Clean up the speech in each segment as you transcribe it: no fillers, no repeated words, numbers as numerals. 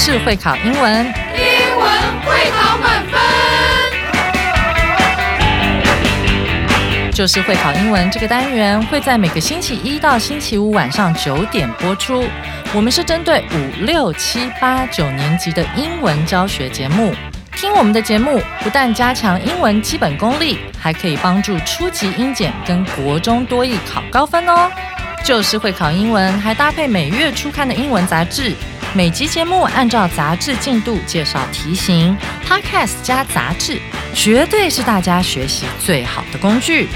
就是会考英文， 英文会考满分。 就是会考英文这个单元会在每个星期一到星期五晚上9点播出。我们是针对5、6、7、8、9年级的英文教学节目。听我们的节目，不但加强英文基本功力，还可以帮助初级英检跟国中多益考高分哦。就是会考英文，还搭配每月初刊的英文杂志。每集节目按照杂志进度介绍题型 ，Podcast 加杂志，绝对是大家学习最好的工具。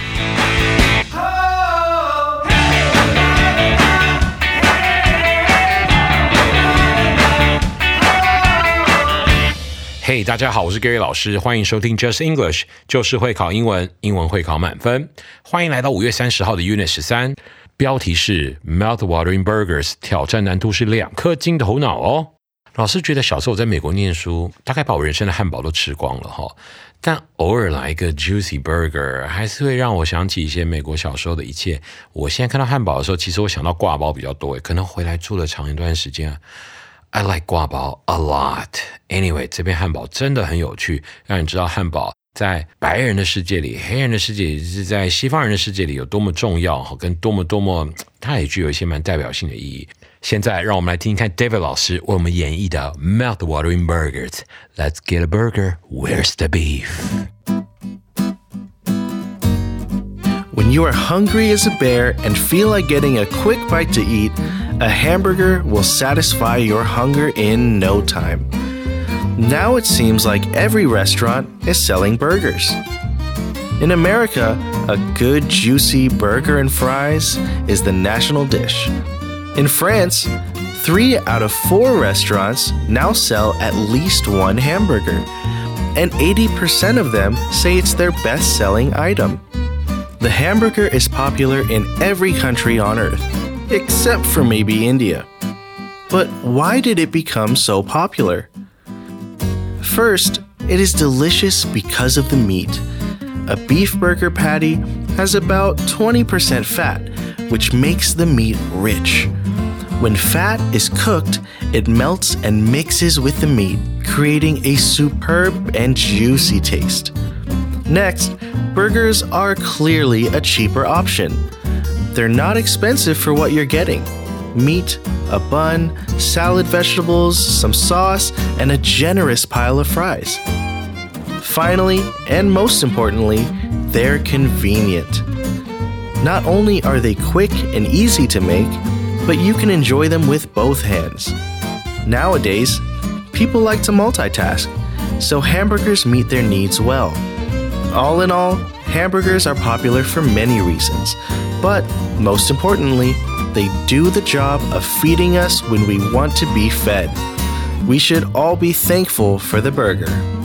嘿、大家好，我是 Gary 老师，欢迎收听 Just English， 就是会考英文，英文会考满分。欢迎来到5月30号的 Unit 13，标题是 Mouth-watering burgers， 挑战难度是2颗金头脑哦。老师觉得小时候我在美国念书，大概把我人生的汉堡都吃光了哈，但偶尔来一个 juicy burger， 还是会让我想起一些美国小时候的一切。我现在看到汉堡的时候，其实我想到挂包比较多，可能回来住了长一段时间I like 挂包 a lot. Anyway， 这边汉堡真的很有趣，让你知道汉堡在白人的世界里、黑人的世界里，是在西方人的世界里有多么重要，跟多么，它也具有一些蛮代表性的意义。现在让我们来听听看 David 老师为我们演绎的 Mouth-watering burgers. Let's get a burger. Where's the beef? When you are hungry as a bear and feel like getting a quick bite to eat, a hamburger will satisfy your hunger in no time. Now it seems like every restaurant is selling burgers. In America, a good juicy burger and fries is the national dish. In France, 3 out of 4 restaurants now sell at least one hamburger, and 80% of them say it's their best-selling item. The hamburger is popular in every country on earth, except for maybe India. But why did it become so popular? First, it is delicious because of the meat. A beef burger patty has about 20% fat, which makes the meat rich. When fat is cooked, it melts and mixes with the meat, creating a superb and juicy taste. Next, burgers are clearly a cheaper option. They're not expensive for what you're getting. Meat, a bun, salad vegetables, some sauce, and a generous pile of fries. Finally, and most importantly, they're convenient. Not only are they quick and easy to make, but you can enjoy them with both hands. Nowadays, people like to multitask, so hamburgers meet their needs well. All in all, hamburgers are popular for many reasons, but most importantly, they do the job of feeding us when we want to be fed. We should all be thankful for the burger.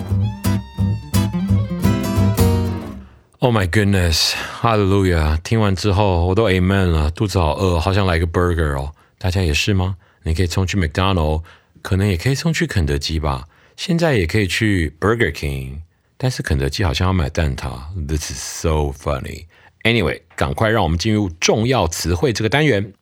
Oh my goodness, hallelujah! 听完之后我都 amen 了，肚子好饿，好想来个 burger 哦。大家也是吗？你可以冲去 McDonald's， 可能也可以冲去肯德基吧。现在也可以去 Burger King， 但是肯德基好像要买蛋挞。This is so funny. Anyway， 赶快让我们进入重要词汇这个单元。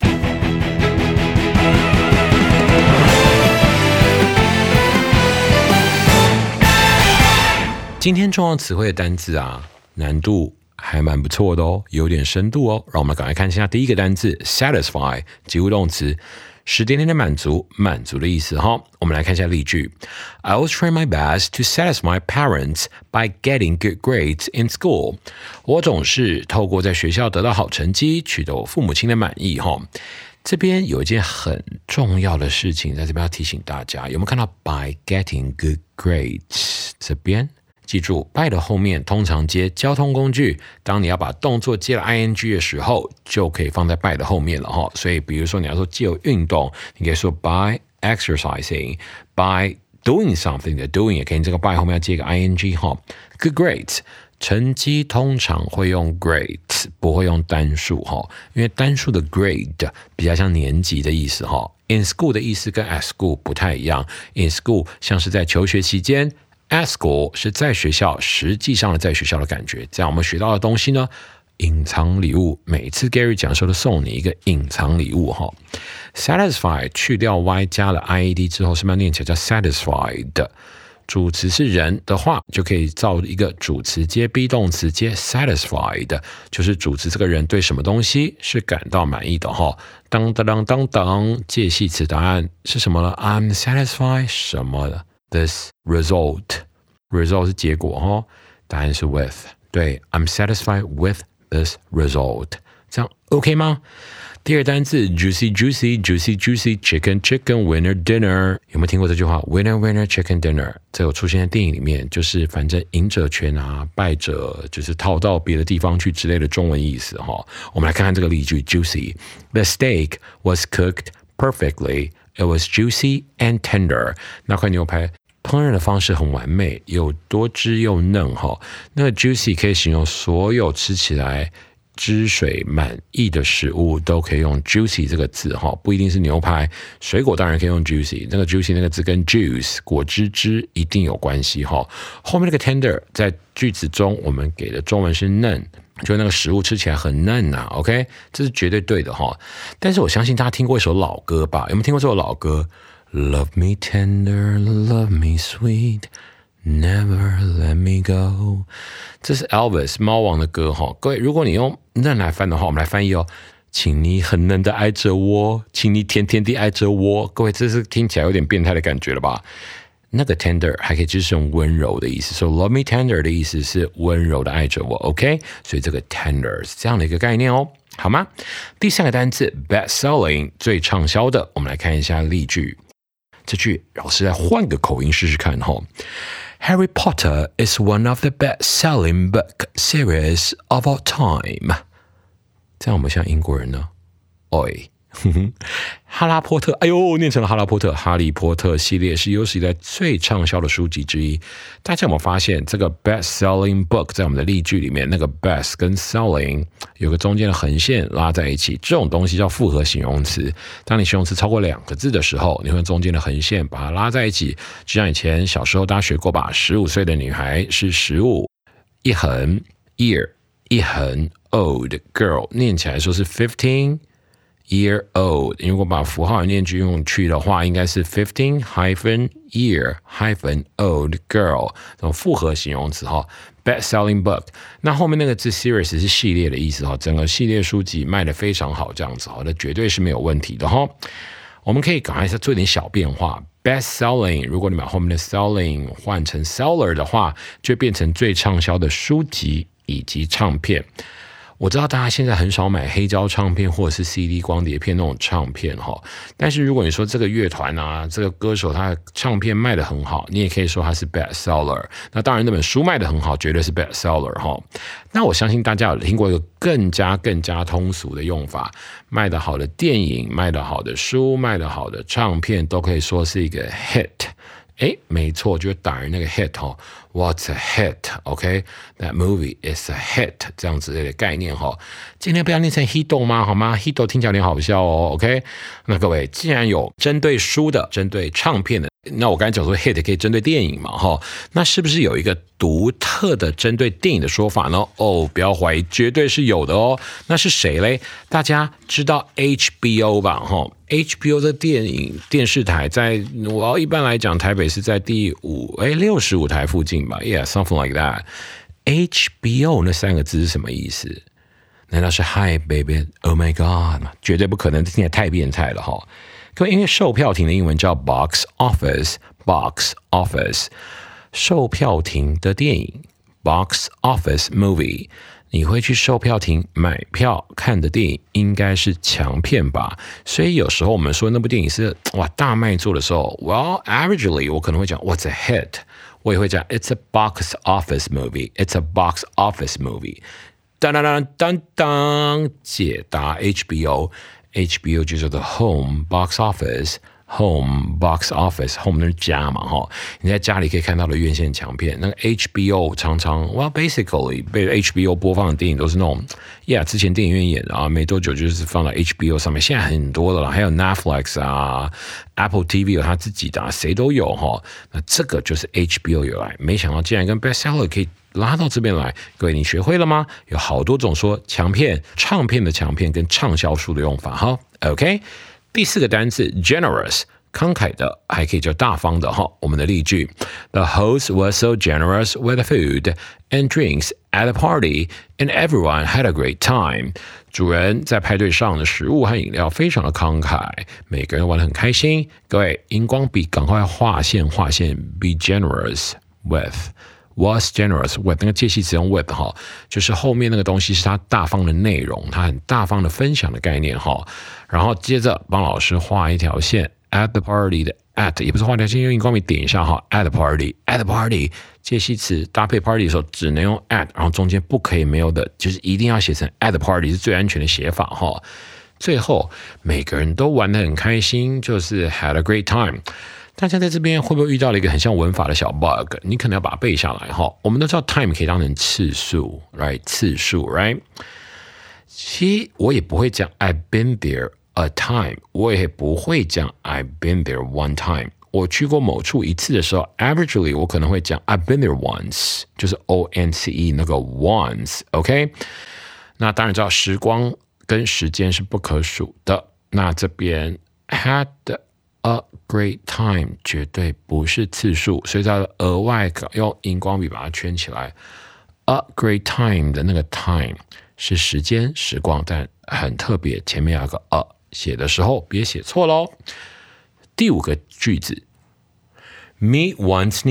今天重要词汇的单字啊，难度还蛮不错的哦，有点深度哦。让我们赶快看一下第一个单字 satisfy， 及物动词，使点点的满足，满足的意思哈。我们来看一下例句 I will try my best to satisfy my parents by getting good grades in school. 我总是透过在学校得到好成绩，取得我父母亲的满意哈。这边有一件很重要的事情，在这边要提醒大家，有没有看到 by getting good grades 这边？记住 by 的后面通常接交通工具，当你要把动作接了 ing 的时候，就可以放在 by 的后面了哈。所以比如说你要说借由运动，你可以说 by exercising， by doing something 的 doing 也可以，你这个 by 后面要接个 ing 哈。Good grades， 成绩通常会用 grades， 不会用单数哈，因为单数的 grade 比较像年级的意思哈。In school 的意思跟 at school 不太一样 ，in school 像是在求学期间。At school 是在学校，实际上的在学校的感觉。这样我们学到的东西呢隐藏礼物，每次 Gary 讲的时候都送你一个隐藏礼物哈。Satisfy 去掉 y 加了 ied 之后，是不是要念起来叫 satisfied？主词是人的话，就可以造一个主词接 be 动词接 satisfied， 就是主词这个人对什么东西是感到满意的哈。当当当当当，介系词答案是什么呢 ？I'm satisfied 什么的 ？This result 是结果哈，答案是 with。对 ，I'm satisfied with this result， 这样 OK 吗？第二单字 juicy juicy juicy juicy chicken chicken winner dinner， 有没有听过这句话 winner winner chicken dinner？ 这有出现在电影里面，就是反正赢者全拿，败者就是逃到别的地方去之类的中文意思哈。我们来看看这个例句 juicy。The steak was cooked perfectly. It was juicy and tender. 那块牛排烹饪的方式很完美，有多汁又嫩哈。那个 juicy 可以形容所有吃起来汁水满溢的食物都可以用 juicy 这个字哈，不一定是牛排，水果当然可以用 juicy。那个 juicy 那个字跟 juice 果汁汁一定有关系哈。后面那个 tender 在句子中我们给的中文是嫩，就那个食物吃起来很嫩啊 ，OK， 这是绝对对的哈。但是我相信大家听过一首老歌吧？有没有听过这首老歌 ？Love me tender, love me sweet.Never let me go， 这是 Elvis 猫王的歌哈。各位，如果你用嫩来翻的话，我们来翻译哦。请你很嫩的爱着我，请你甜甜地爱着我。各位，这是听起来有点变态的感觉了吧？那个 tender 还可以就是用温柔的意思，所以 love me tender 的意思是温柔的爱着我 ，OK？ 所以这个 tender 是这样的一个概念哦，好吗？第三个单字 best selling 最畅销的，我们来看一下例句。这句老师来换个口音试试看哈。Harry Potter is one of the best-selling book series of all time. 这样我们像英国人呢？oi， 哈拉波特，哎呦，念成了哈拉波特。哈利波特系列是有史以来最畅销的书籍之一。大家有没有发现这个 best-selling book 在我们的例句里面，那个 best 跟 selling 有个中间的横线拉在一起，这种东西叫复合形容词。当你形容词超过2个字的时候，你会用中间的横线把它拉在一起。就像以前小时候大家学过吧，15岁的女孩是15，一横 year， 一横 old girl， 念起来说是15。year old， 如果把符号念句用去的话，应该是 15-year-old girl， 这种复合形容词哈。Best selling book， 那后面那个字 series 是系列的意思哈，整个系列书籍卖得非常好，这样子哈，那绝对是没有问题的哈。我们可以赶快做一点小变化。Best selling， 如果你把后面的 selling 换成 seller 的话，就变成最畅销的书籍以及唱片。我知道大家现在很少买黑胶唱片或者是 CD 光碟片那种唱片哈，但是如果你说这个乐团啊，这个歌手他的唱片卖得很好，你也可以说他是 best seller。那当然那本书卖得很好，绝对是 best seller 哈。那我相信大家有听过一个更加通俗的用法，卖得好的电影、卖得好的书、卖得好的唱片都可以说是一个 hit。没错，就是打人那个 hit 哈 ，What's a hit？OK， That movie is a hit， 这样子的概念哈。今天不要念成 hito 吗？好吗 ？hito 听起来有点好笑哦。OK， 那各位既然有针对书的、针对唱片的，那我刚才讲说 hit 可以针对电影嘛哈，那是不是有一个独特的针对电影的说法呢？哦，不要怀疑，绝对是有的哦。那是谁嘞？大家知道 HBO 吧？哈。HBO 的电视台在我要一般来讲，台北是在第65台附近吧 ，Yeah, something like that. HBO 那3个字是什么意思？难道是 Hi baby, Oh my God 吗？绝对不可能，听起来太变态了哈。各位，因为售票亭的英文叫 box office， 售票亭的电影 box office movie。你会去售票亭买票看的电影应该是强片吧，所以有时候我们说那部电影是大卖座的时候 ，Well averagely 我可能会讲 What's a hit， 我也会讲 It's a box office movie， 当当当当当，解答 HBO 就叫做 home box office。 home box office home 那是家嘛哈，你在家里可以看到的院线强片，那个 HBO 常常 basically 被 HBO 播放的电影都是那种之前电影院演啊，没多久就是放到 HBO 上面，现在很多的了，还有 Netflix 啊 Apple TV 有他自己的谁都有哈，那这个就是 HBO 有来，没想到竟然跟 bestseller 可以拉到这边来，各位你学会了吗？有好多种说强片、唱片的强片跟畅销书的用法哈。OK， 第4个单字 generous， 慷慨的，还可以叫大方的哈。我们的例句 ：The host was so generous with the food and drinks at the party, and everyone had a great time. 主人在派对上的食物和饮料非常的慷慨，每个人玩得很开心。各位，荧光笔赶快划线，be generous with。Was generous with 那个介系词用 with 哈，就是后面那个东西是他大方的内容，他很大方的分享的概念哈。然后接着帮老师画一条线 ，at the party 的 at 也不是画条线，用荧光笔点一下哈 ，at the party 介系词搭配 party 的时候只能用 at， 然后中间不可以没有的，就是一定要写成 at the party 是最安全的写法哈。最后每个人都玩得很开心，就是 had a great time。大家在这边会不会遇到了一个很像文法的小 bug？ 你可能要把它背下来哈。我们都知道 time 可以当成次数 ，right？ 次数 ，right？ 其实我也不会讲 I've been there a time， 我也不会讲 I've been there one time。我去过某处一次的时候 ，averagely 我可能会讲 I've been there once， 就是 once 那个 once，OK？那当然知道时光跟时间是不可数的。那这边 had a great time 绝对不是次数，所以它额外用荧光笔把它圈起来。A great time 的那个 time 是时间时光，但很特别，前面有个 a， 写的时候别写错咯。第5个句子 meet one's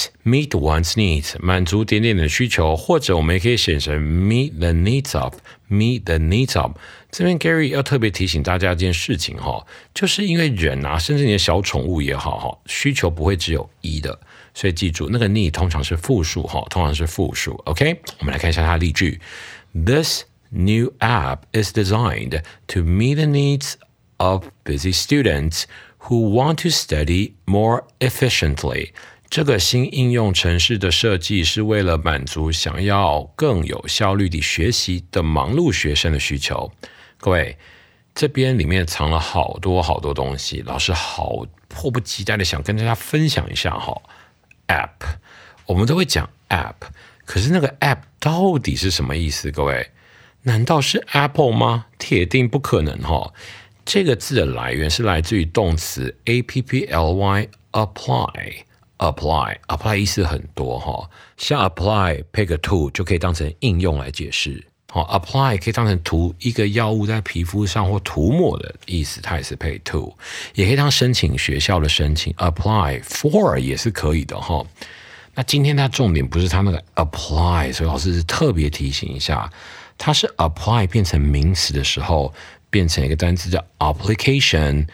needs 满足点点的需求，或者我们也可以写成 meet the needs of。这边 Gary 要特别提醒大家一件事情哈，就是因为人啊，甚至你的小宠物也好哈，需求不会只有一的，所以记住那个 need 通常是复数哈，通常是复数。OK， 我们来看一下它的例句 ：This new app is designed to meet the needs of busy students who want to study more efficiently。这个新应用程式的设计是为了满足想要更有效率地学习的忙碌学生的需求。各位，这边里面藏了好多好多东西，老师好迫不及待的想跟大家分享一下哈。App， 我们都会讲 App， 可是那个 App 到底是什么意思？各位，难道是 Apple 吗？铁定不可能哈。这个字的来源是来自于动词 apply apply 意思很多哈，像 apply 配个 to 就可以当成应用来解释。apply 可以当成涂一个药物在皮肤上或涂抹的意思，它也是配 to， 也可以当申请学校的申请 apply for 也是可以的哈。那今天它重点不是它那个 apply， 所以老师是特别提醒一下，它是 apply 变成名词的时候，变成一个单词叫 application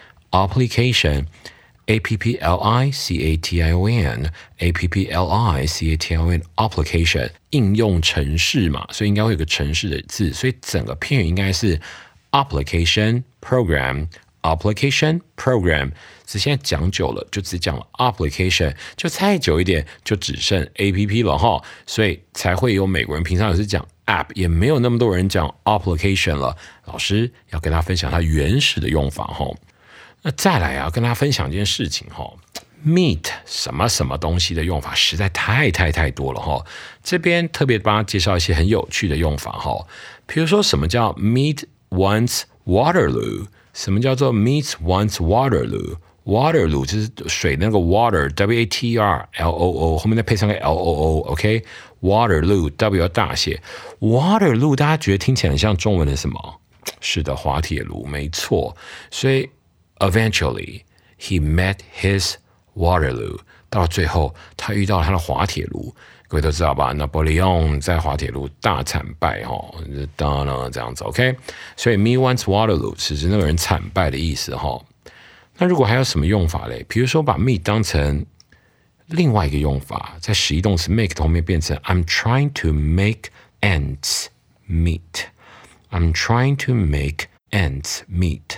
application 应用程式嘛，所以应该会有个程式的字，所以整个片语应该是 application program。只现在讲久了就只讲了 application， 就再久一点就只剩 app 了哈，所以才会有美国人平常也是讲 app， 也没有那么多人讲 application 了。老师要跟大家分享它原始的用法哈。那再来啊，跟大家分享一件事情哈 ，meet 什么什么东西的用法实在太多了哈。这边特别帮大家介绍一些很有趣的用法哈，比如说什么叫 meet one's Waterloo， 什么叫做 meet one's Waterloo？Waterloo 就是水那个 water W-A-T-E-R-L-O-O 后面再配上个 L-O-O，OK？ Waterloo W 要大写 Waterloo 大家觉得听起来很像中文的什么？是的，滑铁卢，没错。所以 eventually he met his Waterloo， 到了最后他遇到了他的滑铁卢。各位都知道吧？拿破仑在滑铁卢大惨败哈，当然这样子 OK。所以 meet one's Waterloo 是指那个人惨败的意思哈。那如果还有什么用法嘞？比如说把 meet 当成另外一个用法，在实义动词 make 后面变成 I'm trying to make ends meet。I'm trying to make ends meet。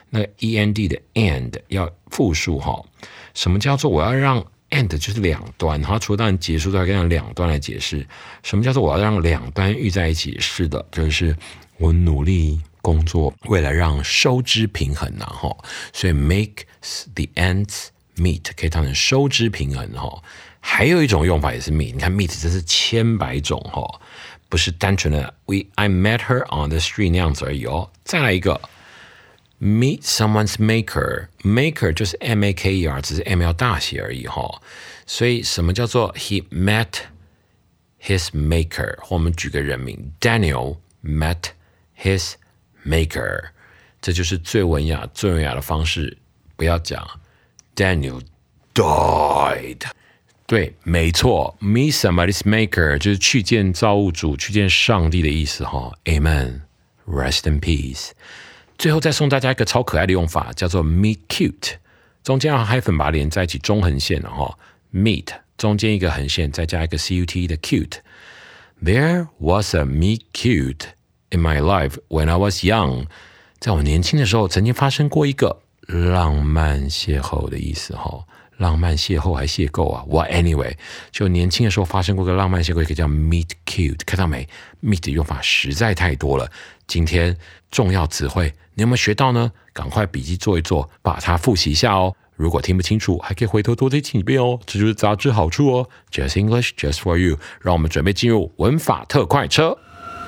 那个 END 的 end 要复数哈。什么叫做我要让 end 就是两端？它除了当然结束都要跟两端来解释。什么叫做我要让两端遇在一起？是的，就是我努力工作，为了让收支平衡呐哈。所以 make the ends meet 可以当成收支平衡哈。还有一种用法也是 meet， 你看 meet 这是千百种哈，不是单纯的 I met her on the street 那样子而已哦。再来一个 meet someone's maker 就是 M-A-K-E-R， 只是 M 要大写而已哈。所以什么叫做 he met his maker？ 或我们举个人名 Daniel met his maker， 这就是最文雅的方式，不要讲 Daniel died。对，没错 ，meet somebody's maker 就是去见造物主、去见上帝的意思哈。Amen, rest in peace。最后再送大家一个超可爱的用法，叫做 meet cute， 中间要hyphen把它连在一起，中横线哈。meet 中间一个横线，再加一个 cut 的 cute。There was a meet cute in my life when I was young。在我年轻的时候，曾经发生过一个浪漫邂逅的意思哈。浪漫邂逅还邂逅啊 ？Well, anyway， 就年轻的时候发生过个浪漫邂逅，一个叫 meet cute， 看到没 ？meet 的用法实在太多了。今天重要词汇，你有没有学到呢？赶快笔记做一做，把它复习一下哦。如果听不清楚，还可以回头多听几遍哦。这就是杂志好处哦。Just English, just for you。让我们准备进入文法特快车。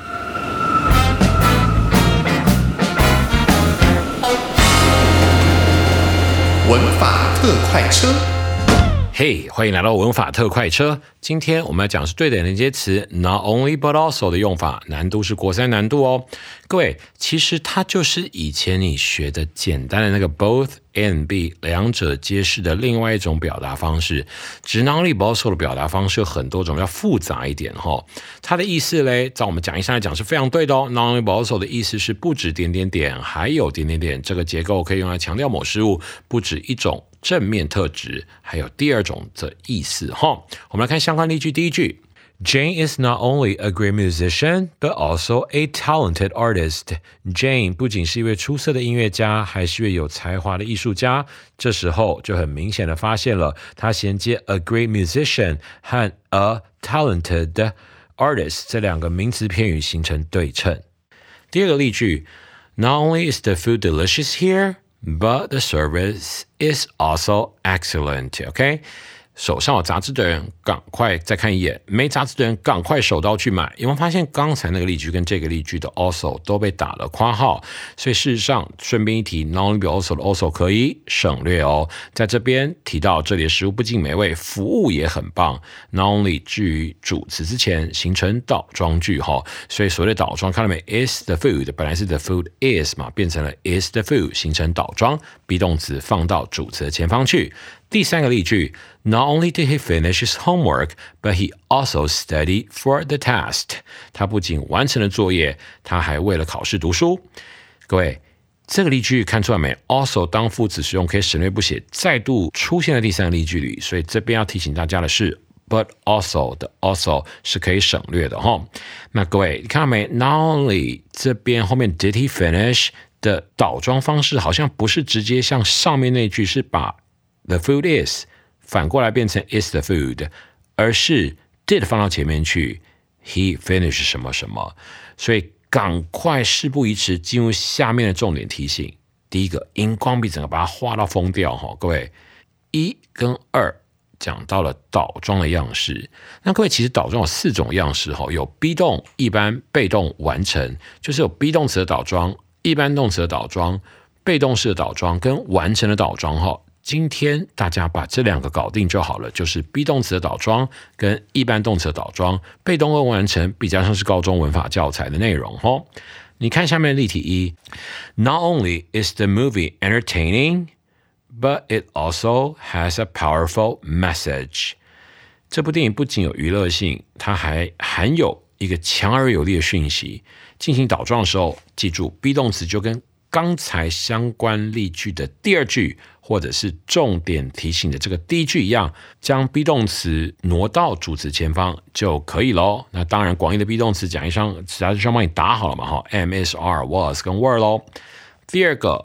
文法特快车。 嘿，欢迎来到文法特快车。今天我们要讲的是对等连接词 not only but also 的用法，难度是国三难度哦。各位，其实它就是以前你学的简单的那个 both and be 两者皆是的另外一种表达方式。只是 not only but also 的表达方式有很多种，要复杂一点哈。它的意思嘞，照我们讲义上来讲是非常对的哦。not only but also 的意思是不止点点点，还有点点点。这个结构可以用来强调某事物不止一种正面特质，还有第二种的意思哈。我们来看相关例句，第一句 Jane is not only a great musician, but also a talented artist. Jane 不仅是一位出色的音乐家，还是一位有才华的艺术家。这时候就很明显的发现了，他衔接 a great musician 和 a talented artist 这两个名词片语形成对称。第二个例句 Not only is the food delicious here,But the service is also excellent. OK， 手上有杂志的人赶快再看一眼，没杂志的人赶快手刀去买。有没有发现刚才那个例句跟这个例句的 also 都被打了括号？所以事实上，顺便一提 ，not only but also 的 also 可以省略哦。在这边提到这里的食物不仅美味，服务也很棒。not only 置于主词之前形成倒装句哈，所以所谓的倒装看到没 ？is the food 本来是 the food is 嘛，变成了 is the food 形成倒装，be 动词放到主词的前方去。第三个例句 Not only did he finish his homework, but he also studied for the test. 他不仅完成了作业，他还为了考试读书。各位，这个例句看出来没 ？also 当副词使用可以省略不写，再度出现在第三个例句里，所以这边要提醒大家的是 but also 的 also 是可以省略的哈。那各位，你看到没 ？Not only 这边后面 did he finish 的倒装方式好像不是直接像上面那句是把The food is 反过来变成 is the food， 而是 did 放到前面去 he finished 什么什么，所以赶快事不宜迟，进入下面的重点提醒。第一个，荧光笔整个把它画到疯掉哈，各位1跟2讲到了倒装的样式。那各位其实倒装有4种样式哈，有 be 动、一般、被动、完成，就是有 be 动词的倒装、一般动词的倒装、被动式的倒装跟完成的倒装哈。今天大家把这两个搞定就好了，就是 be 动词的倒装跟一般动词的倒装，被动跟完成比较像是高中文法教材的内容齁。你看下面的例题1 Not only is the movie entertaining, but it also has a powerful message. 这部电影不仅有娱乐性，它还含有一个强而有力的讯息。进行倒装的时候，记住 be 动词就跟刚才相关例句的第二句或者是重点提醒的这个第一句一样，将 be 动词挪到主词前方就可以咯。那当然广义的 be 动词讲义上杂志上帮你打好了嘛 M, is, are, was 跟 were 咯。第二个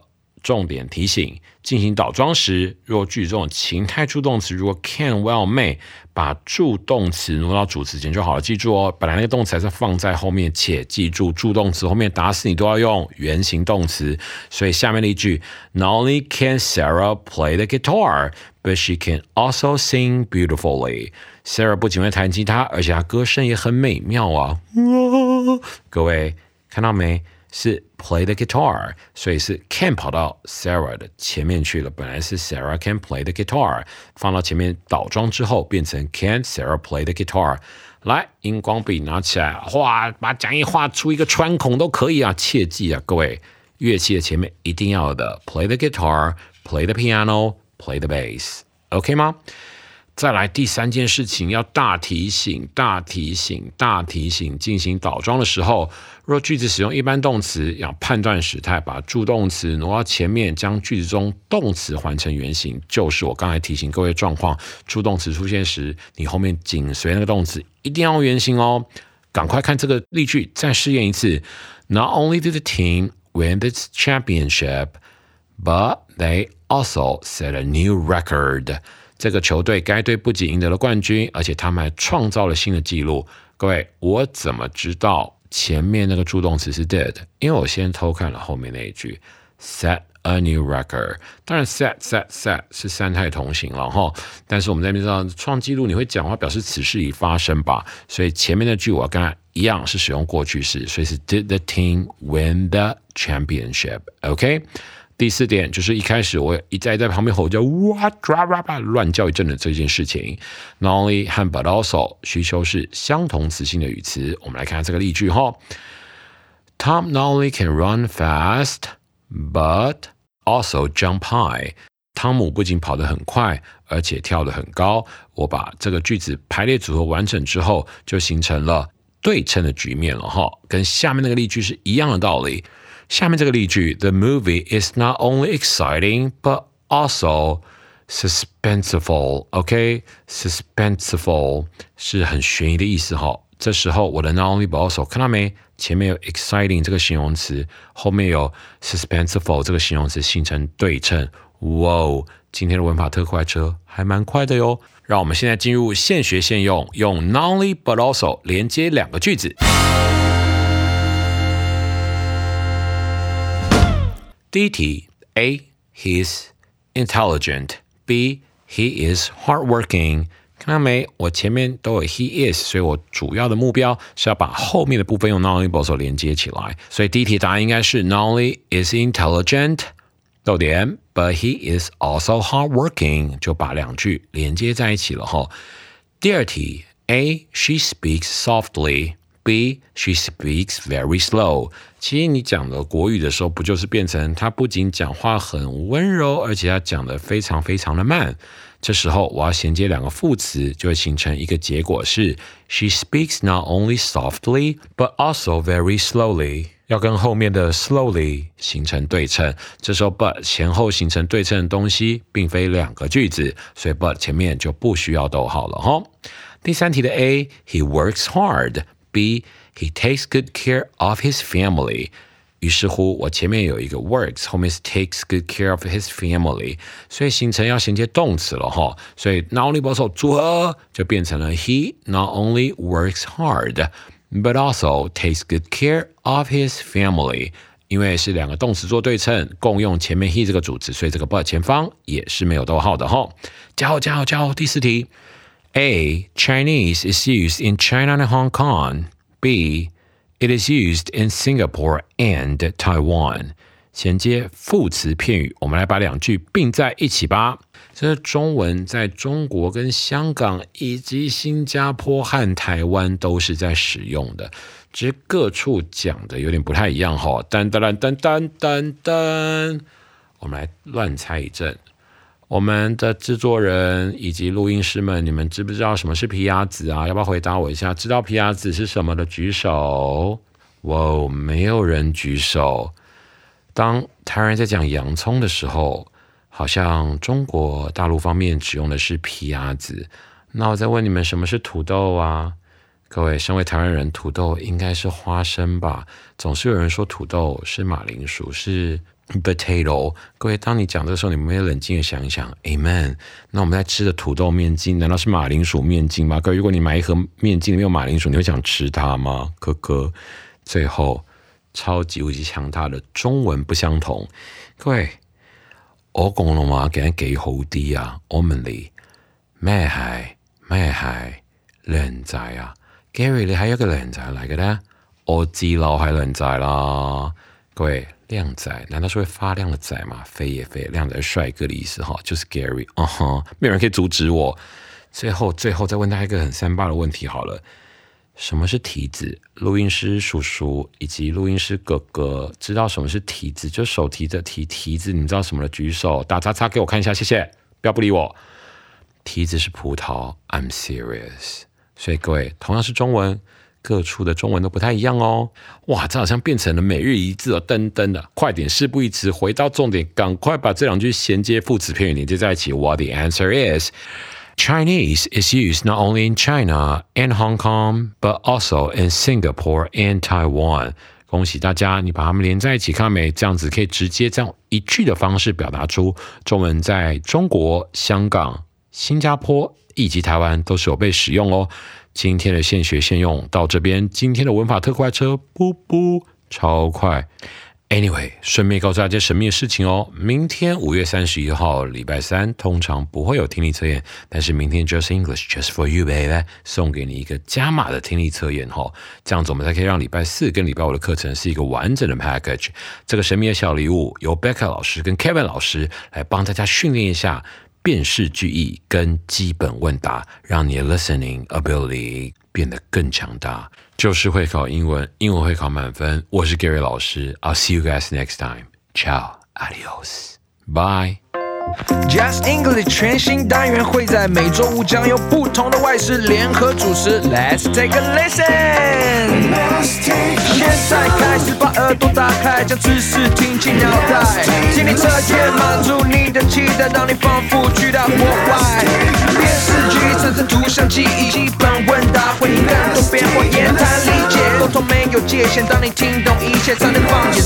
重点提醒，进行倒装时，若句子中的情态助动词如果 can will may， 把助动词挪到主词前就好了。记住哦，本来那个动词还是放在后面，且记住助动词后面打死你都要用原形动词。所以下面的一句 Not only can Sarah play the guitar, but she can also sing beautifully. Sarah 不仅会弹吉他，而且她歌声也很美妙啊！各位看到没？是 play the guitar， 所以是 can 跑到 Sarah 的前面去了。本来是 Sarah can play the guitar， 放到前面倒装之后变成 can Sarah play the guitar。来，荧光笔拿起来，画，把讲义画出一个穿孔都可以啊！切记啊，各位，乐器的前面一定要有的 play the guitar、play the piano、play the bass，OK 吗？再来第三件事情，要大提醒，进行倒装的时候，若句子使用一般动词，要判断时态，把助动词挪到前面，将句子中动词还成原形，就是我刚才提醒各位状况，助动词出现时，你后面紧随那个动词一定要用原形哦。赶快看这个例句，再试验一次。Not only did the team win this championship, but they also set a new record. 这个球队该队不仅赢得了冠军，而且他们还创造了新的纪录。各位，我怎么知道前面那个助动词是 did？ 因为我先偷看了后面那一句 set a new record。当然 set 是三态同形了哈，但是我们在那边知道创纪录，你会讲话表示此事已发生吧？所以前面那句我要跟它一样是使用过去式，所以是 did the team win the championship？OK？第四点就是一开始我一再在旁边吼叫哇乱叫一阵的这件事情 ，not only 和 but also 需求是相同词性的语词。我们来看这个例句哈 ，Tom not only can run fast, but also jump high。汤姆不仅跑得很快，而且跳得很高。我把这个句子排列组合完整之后，就形成了对称的局面了哈，跟下面那个例句是一样的道理。下面这个例句 The movie is not only exciting, but also suspenseful. OK? Suspenseful 是很悬疑的意思哈。这时候我的 not only but also 看到没？前面有 exciting 这个形容词，后面有 suspenseful 这个形容词形成对称。哇，今天的文法特快车还蛮快的哟。让我们现在进入现学现用，用 not only but also 连接两个句子。第一题 A. He's intelligent. B. He is hardworking. 看到没？我前面都有 he is， 所以我主要的目标是要把后面的部分用 not only but also 连接起来。所以第一题答案应该是 not only is intelligent, 逗点 but he is also hardworking， 就把两句连接在一起了哈。第二题 A. She speaks softly.B. She speaks very slow. 其实你讲的国语的时候，不就是变成她不仅讲话很温柔，而且她讲得非常非常的慢。这时候我要衔接两个副词，就会形成一个结果是 She speaks not only softly, but also very slowly. 要跟后面的 slowly 形成对称。这时候 but 前后形成对称的东西，并非两个句子，所以 but 前面就不需要逗号了哈。第三题的 A. He works hard.B. He takes good care of his family. 于是乎，我前面有一个 works， 后面是 takes good care of his family， 所以形成要衔接动词了哈。所以 not only but also 组合就变成了 He not only works hard, but also takes good care of his family。因为是两个动词做对称，共用前面 he 这个主词，所以这个 but 前方也是没有逗号的哈。加油！第四题。A. Chinese is used in China and Hong Kong. B. It is used in Singapore and Taiwan. 衔接副词片语，我们来把两句并在一起吧。这中文在中国跟香港以及新加坡和台湾都是在使用的，只是各处讲的有点不太一样哈。噔，我们来乱猜一阵。我们的制作人以及录音师们，你们知不知道什么是皮鸭子啊？要不要回答我一下？知道皮鸭子是什么的举手。哇，没有人举手。当台湾人在讲洋葱的时候，好像中国大陆方面使用的是皮鸭子。那我再问你们，什么是土豆啊？各位，身为台湾人，土豆应该是花生吧？总是有人说土豆是马铃薯，是 potato。各位，当你讲的时候，你们会冷静的想一想 ，Amen。那我们在吃的土豆面筋，难道是马铃薯面筋吗？各位，如果你买一盒面筋里面有马铃薯，你会想吃它吗？可可。最后，超级无敌强大的中文不相同。各位，我講嘅話梗係幾好啲啊！我問你咩係靚仔啊 ？Gary， 你係一個靚仔嚟嘅咧？我知啦，我係靚仔啦。各位，靓仔难道是会发亮的仔吗？非也非，靓仔帅哥的意思哈，就是 Gary。没有人可以阻止我。最后再问大家一个很三八的问题好了。什么是提子？录音师叔叔以及录音师哥哥知道什么是提子？就手提着提子，你知道什么的举手打叉叉给我看一下，谢谢。不要不理我。提子是葡萄 ，I'm serious。所以各位，同样是中文。各处的中文都不太一样哦。哇，这好像变成了每日一字哦，噔噔的，快点，事不宜迟，回到重点，赶快把这两句衔接副词片语连接在一起。What the answer is? Chinese is used not only in China and Hong Kong, but also in Singapore and Taiwan. 恭喜大家，你把它们连在一起，看到没？这样子可以直接这样一句的方式表达出中文在中国、香港、新加坡以及台湾都是有被使用哦。今天的现学现用到这边，今天的文法特快车，噗噗，超快。Anyway， 顺便告诉大家神秘的事情哦，明天5月31号，礼拜三，通常不会有听力测验，但是明天 Just English Just for you baby， 送给你一个加码的听力测验哈，这样子我们才可以让礼拜4跟礼拜5的课程是一个完整的 package。这个神秘的小礼物由 Becca 老师跟 Kevin 老师来帮大家训练一下。辨识句意跟基本问答，让你的 listening ability 变得更强大。就是会考英文，英文会考满分。我是 Gary 老师 ，I'll see you guys next time. Ciao, adios, bye. Just English 全新单元会在每周五将有不同的外师联合主持。Let's take a listen。现在开始把耳朵打开，将知识听进脑袋。听力测验满足你的期待，让你仿佛去到国外。辨识句产生图像记忆，基本问答回应更多变化，言谈理解沟通没有界限。当你听懂一切，才能放眼